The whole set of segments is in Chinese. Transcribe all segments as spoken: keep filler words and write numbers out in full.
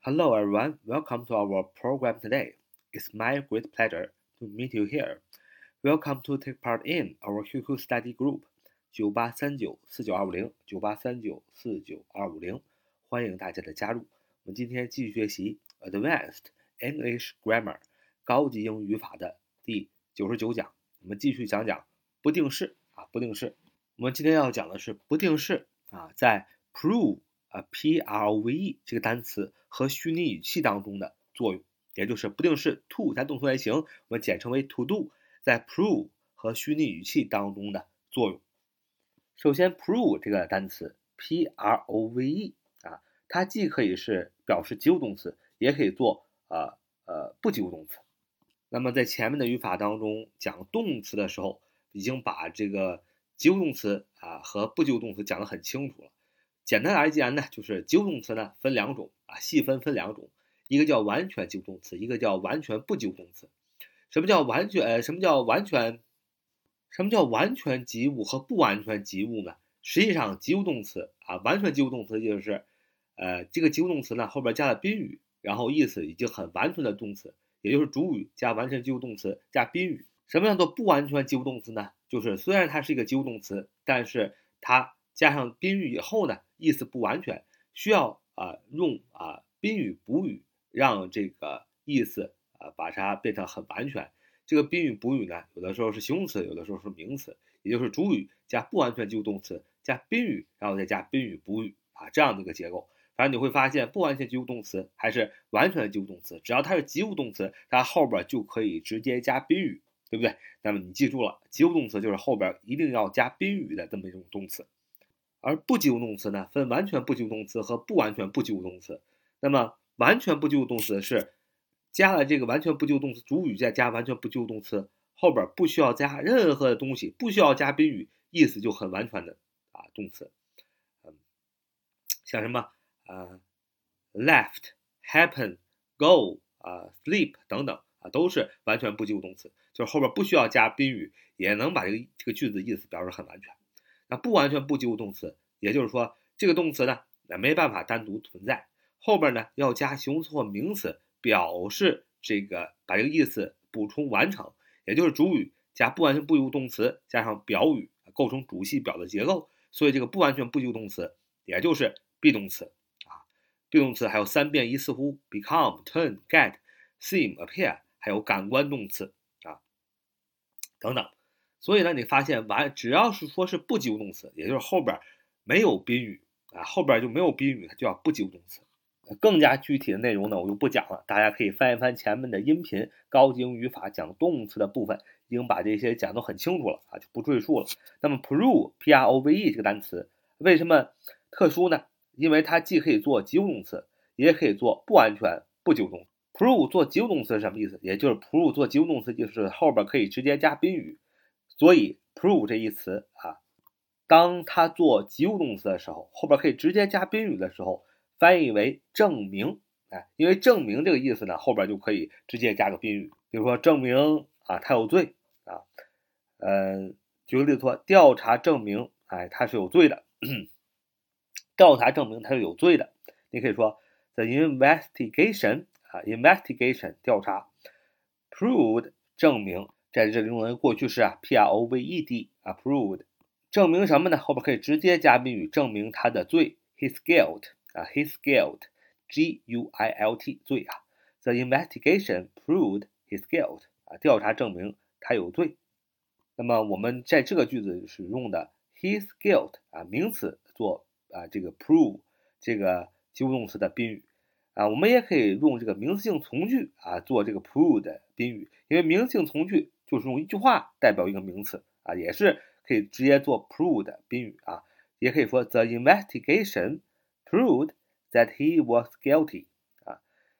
Hello everyone, welcome to our program today. It's my great pleasure to meet you here. Welcome to take part in our Q Q study group 九八三九四九二五零 九八三九四九二五零，欢迎大家的加入。我们今天继续学习 Advanced English Grammar 高级英语语法的第九十九讲。我们继续讲讲不定式啊，不定式。我们今天要讲的是不定式啊，在 prove 啊 P R O V E 这个单词和虚拟语气当中的作用，也就是不定式 to 加动词原形，我们简称为 to do， 在 prove 和虚拟语气当中的作用。首先 prove 这个单词 P R O V E 啊，它既可以是表示及物动词，也可以做呃呃不及物动词。那么在前面的语法当中讲动词的时候，已经把这个及物动词啊和不及物动词讲得很清楚了。简单而言呢，就是及物动词呢分两种啊，细分分两种，一个叫完全及物动词，一个叫完全不及物动词。什么叫完全？呃，什么叫完全？什么叫完全及物和不完全及物呢？实际上，及物动词啊，完全及物动词就是，呃，这个及物动词呢后边加了宾语，然后意思已经很完全的动词，也就是主语加完全及物动词加宾语。什么叫做不完全及物动词呢？就是虽然它是一个及物动词，但是它加上宾语以后呢，意思不完全，需要啊、呃、用啊、呃、宾语补语，让这个意思啊、呃、把它变成很完全。这个宾语补语呢，有的时候是形容词，有的时候是名词，也就是主语加不完全及物动词加宾语，然后再加宾语补语啊，这样的一个结构。反正你会发现，不完全及物动词还是完全及物动词，只要它是及物动词，它后边就可以直接加宾语，对不对？那么你记住了，及物动词就是后边一定要加宾语的这么一种动词。而不及物动词呢，分完全不及物动词和不完全不及物动词。那么完全不及物动词是加了这个完全不及物动词主语，再加完全不及物动词，后边不需要加任何的东西，不需要加宾语，意思就很完全的啊动词。嗯，像什么啊 left、happen、go 啊 sleep 等等啊，都是完全不及物动词，就是后边不需要加宾语，也能把这个这个句子意思表示很完全。那不完全不及物动词，也就是说这个动词呢，没办法单独存在，后边呢要加形容词或名词，表示这个把这个意思补充完成，也就是主语加不完全不及物动词加上表语，构成主系表的结构。所以这个不完全不及物动词也就是 be 动词啊。be 动词还有三变一似乎 become、turn、get、seem、appear， 还有感官动词啊等等。所以呢，你发现完只要是说是不及物动词，也就是后边没有宾语啊，后边就没有宾语，它就叫不及物动词。更加具体的内容呢，我就不讲了，大家可以翻一翻前面的音频，高级英语语法讲动词的部分，已经把这些讲得很清楚了啊，就不赘述了。那么 prove P R O V E 这个单词为什么特殊呢？因为它既可以做及物动词，也可以做不完全不及物动词。prove 做及物动词是什么意思？也就是 prove 做及物动词就是后边可以直接加宾语。所以 prove 这一词啊，当它做及物动词的时候，后边可以直接加宾语的时候，翻译为证明。哎，因为证明这个意思呢，后边就可以直接加个宾语，比如说证明啊他有罪啊，呃，举个例子说，调查证明哎他是有罪的，调查证明他是有罪的。你可以说 the investigation 啊 investigation 调查 proved 证明。在这里用的过去式啊 P R O V E D 啊 proved 证明什么呢？后边可以直接加宾语，证明他的罪 his guilt 啊 his guilt G U I L T 罪啊 the investigation proved his guilt 啊调查证明他有罪。那么我们在这个句子使用的 his guilt 啊名词做啊这个 prove 这个及物动词的宾语啊，我们也可以用这个名词性从句啊做这个 prove 的宾语，因为名词性从句就是用一句话代表一个名词啊，也是可以直接做 prove 的宾语啊，也可以说 the investigation proved that he was guilty 啊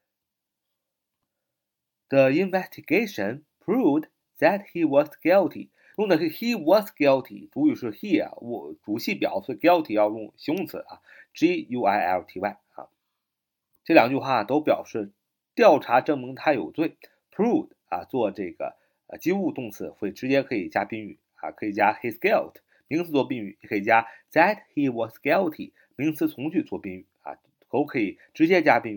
the investigation proved that he was guilty 用的是 he was guilty， 主语是 he 啊，我主系表，所以 guilty 要用形容词啊 G U I L T Y 啊。这两句话都表示调查证明他有罪 proved 啊做这个呃及物动词会直接可以加宾语啊，可以加 his guilt 名词做宾语，也可以加 that he was guilty 名词从句做宾语啊，都可以直接加宾语。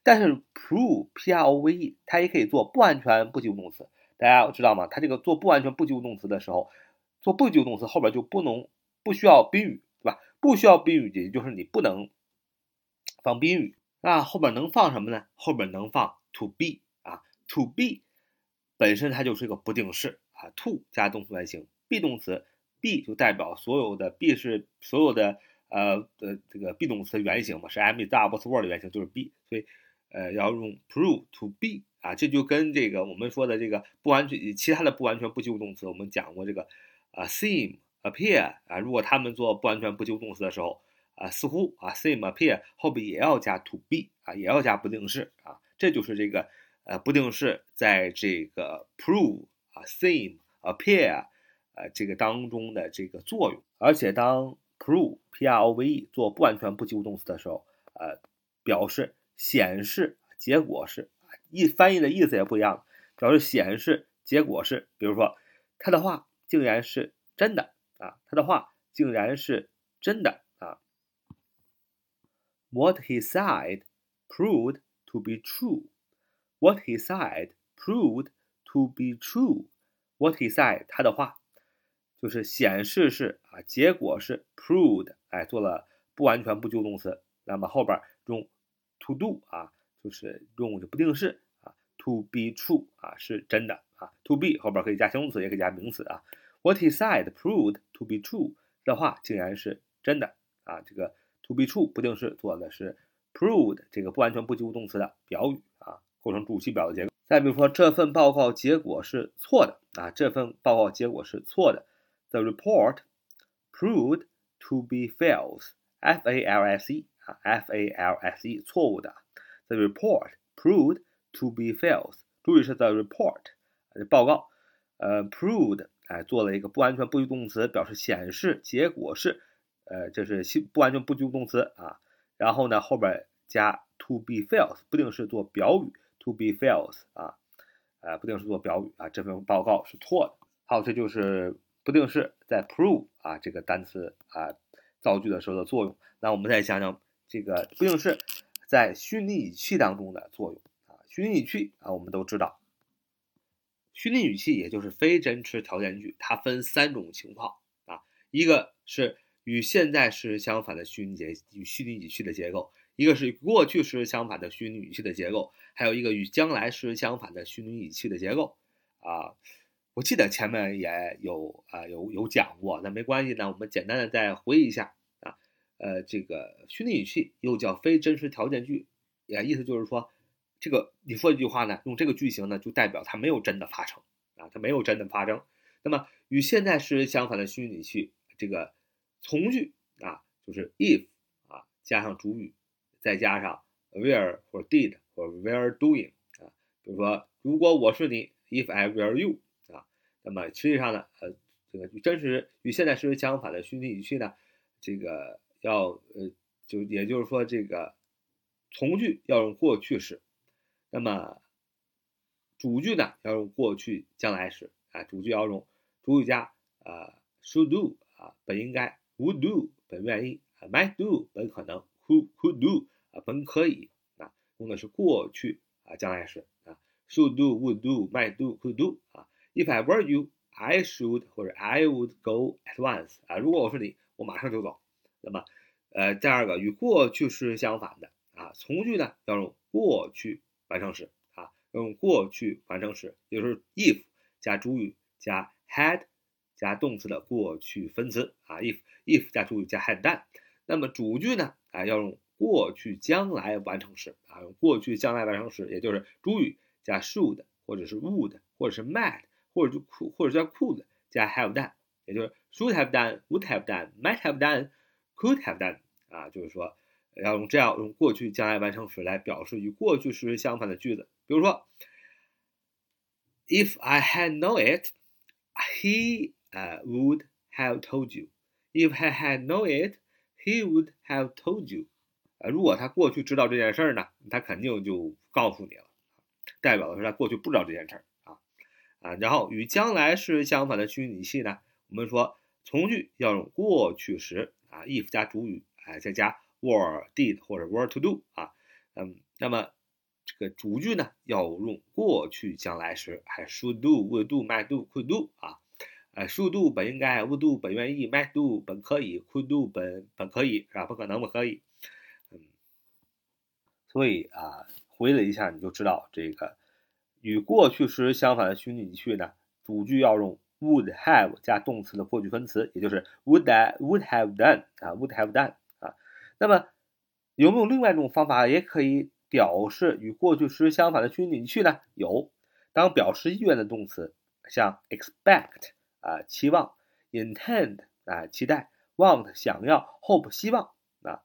但是 prove P R O V E 它也可以做不完全不及物动词，大家知道吗？它这个做不完全不及物动词的时候，做不及物动词后边就不能不需要宾语，对吧？不需要宾语，也就是你不能放宾语。那后边能放什么呢？后边能放 to be 啊 ，to be 本身它就是一个不定式啊 ，to 加动词原形 ，be 动词 be 就代表所有的 be 是所有的呃的这个 be 动词原形嘛，是 am is are was were 的原形就是 be， 所以呃要用 prove to be 啊，这就跟这个我们说的这个不完全其他的不完全不及物动词，我们讲过这个啊 seem、appear 啊，如果他们做不完全不及物动词的时候。啊，似乎啊 ，seem appear 后边也要加 to be 啊，也要加不定式啊，这就是这个呃不定式在这个 prove 啊 seem appear 呃这个当中的这个作用。而且当 prove P R O V E 做不完全不及物动词的时候，呃，表示显示结果是意翻译的意思也不一样，表示显示结果是，比如说他的话竟然是真的啊，他的话竟然是真的。What he said proved to be true. What he said proved to be true. What he said 他的话就是显示是啊，结果是 proved， 哎，做了不完全不及物动词，那么后边用 to do 啊，就是用不定式啊 ，to be true 啊，是真的啊 ，to be 后边可以加形容词，也可以加名词啊。What he said proved to be true 的话竟然是真的啊，这个。to be true 不定式做的是 proved 这个不完全不及物动词的表语啊，构成主系表的结构。再比如说这份报告结果是错的啊，这份报告结果是错的。The report proved to be false. F A L S E 啊 ，F A L S E 错误的。The report proved to be false. 注意是 the report 报告，呃 proved 哎做了一个不完全不及物动词，表示显示结果是。呃，这是不完全不及物动词啊，然后呢后边加 to be false 不定式做表语 to be false 啊，呃不定式做表语啊，这份报告是错的。好，这就是不定式在 prove 啊这个单词啊造句的时候的作用。那我们再想想这个不定式在虚拟语气当中的作用啊，虚拟语气啊我们都知道，虚拟语气也就是非真实条件句，它分三种情况啊，一个是与现在时相反的虚拟结与虚拟语气的结构，一个是与过去时相反的虚拟语气的结构，还有一个与将来时相反的虚拟语气的结构啊。我记得前面也有啊有有讲过，那没关系呢，我们简单的再回忆一下啊。呃，这个虚拟语气又叫非真实条件句，也意思就是说，这个你说一句话呢，用这个句型呢，就代表它没有真的发生啊，它没有真的发生。那么与现在时相反的虚拟语气，这个从句啊，就是 if 啊加上主语，再加上 were 或者 did 或者 were doing 啊，比如说如果我是你 if I were you 啊，那么实际上呢，呃，这个与真实与现在时相反的虚拟语气呢，这个要呃就也就是说这个从句要用过去式，那么主句呢要用过去将来时啊，主句要用主语加啊 should do 啊本应该。would do 本愿意 might do 本可能 could could do 啊本可以啊，用的是过去啊将来时啊 should do would do might do could do 啊 if I were you I should 或者 I would go at once 啊，如果我是你我马上就走。那么呃第二个与过去式相反的啊，从句呢要用过去完成时啊，要用过去完成时，也就是 if 加主语加 had加动词的过去分词啊 if if 加主语加 had done， 那么主句呢啊要用过去将来完成时啊，用过去将来完成时，也就是主语加 should 或者是 would 或者是 might 或者就 could 或者叫 could 加 have done， 也就是 should have done would have done might have done could have done 啊，就是说要用这样用过去将来完成时来表示与过去时相反的句子，比如说 if I had known it he Uh, would have told you. If I had known it, he would have told you. 呃，如果他过去知道这件事呢，他肯定就告诉你了，代表的是他过去不知道这件事啊啊。然后与将来时相反的虚拟语气呢，我们说从句要用过去时啊 ，if 加主语，哎，再加 were did 或者 were to do 啊，嗯，那么这个主句呢要用过去将来时，还 should do would do might do could do 啊，呃 should do 本应该 would do 本愿意 might do 本可以 could do 本本可以是吧？不可能不可以，嗯，所以啊，回了一下你就知道这个与过去时相反的虚拟语气呢，主句要用 would have 加动词的过去分词，也就是 would I would have done 啊 would have done 啊。那么有没有另外一种方法也可以表示与过去时相反的虚拟语气呢？有，当表示意愿的动词，像 expect 啊期望 intend 啊期待 want 想要 hope 希望啊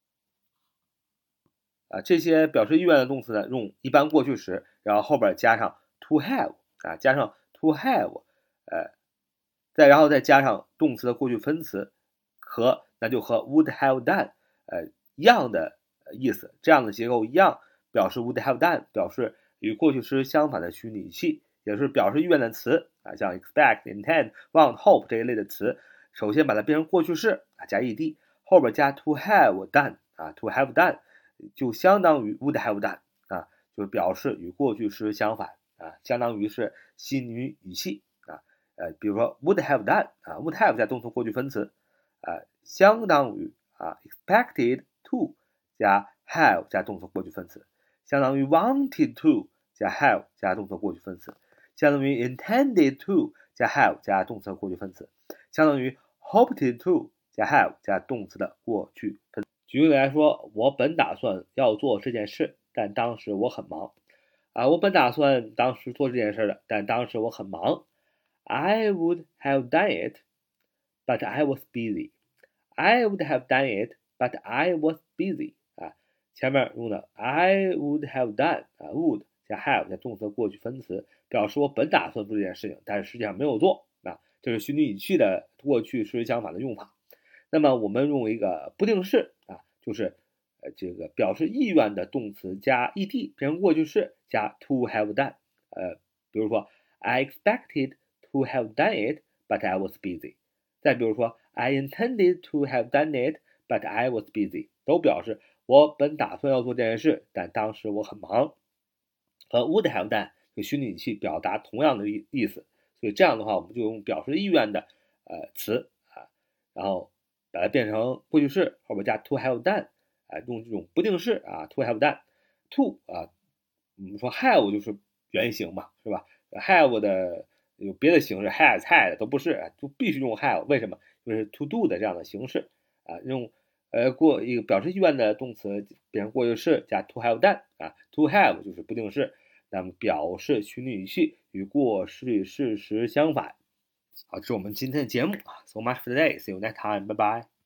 啊这些表示意愿的动词呢，用一般过去时，然后后边加上 to have 啊加上 to have 呃再然后再加上动词的过去分词，和那就和 would have done 呃一样的意思，这样的结构一样，表示 would have done 表示与过去时相反的虚拟语气，也是表示意愿的词啊，像 expect intend want hope 这一类的词，首先把它变成过去式啊加 ed， 后边加 to have done 啊 to have done 就相当于 would have done 啊，就表示与过去时相反啊，相当于是虚拟语气啊，呃，比如说 would have done 啊 would have 加动词过去分词啊，相当于啊 expected to 加 have 加动词过去分词，相当于 wanted to 加 have 加动词过去分词，相当于 intended to 加 have 加动词过去分词，相当于 hoped to 加 have 加动词的过去分词。举例来说，我本打算要做这件事，但当时我很忙。啊，我本打算当时做这件事的，但当时我很忙。I would have done it, but I was busy. I would have done it, but I was busy. 啊，前面用的 I would have done 啊 would 加 have 加动词过去分词，表示我本打算做这件事情，但是实际上没有做。啊，这是虚拟语气的过去时相反的用法。那么我们用一个不定式啊，就是呃这个表示意愿的动词加 ed 变成过去式加 to have done。呃，比如说 I expected to have done it, but I was busy。再比如说 I intended to have done it, but I was busy， 都表示我本打算要做这件事，但当时我很忙。和 would have done 这个虚拟语气表达同样的意意思，所以这样的话，我们就用表示意愿的呃词啊，然后把它变成过去式，后边加 to have done， 啊，用这种不定式啊 to have done。to 啊，我们说 have 就是原形嘛，是吧 ？have 的有别的形式 has had 都不是，就必须用 have， 为什么？就是 to do 的这样的形式啊，用呃过一个表示意愿的动词变成过去式加 to have done 啊 ，to have 就是不定式，那么表示虚拟语气与过去事实相反。好，这是我们今天的节目啊 ，so much for today，see you next time，拜拜。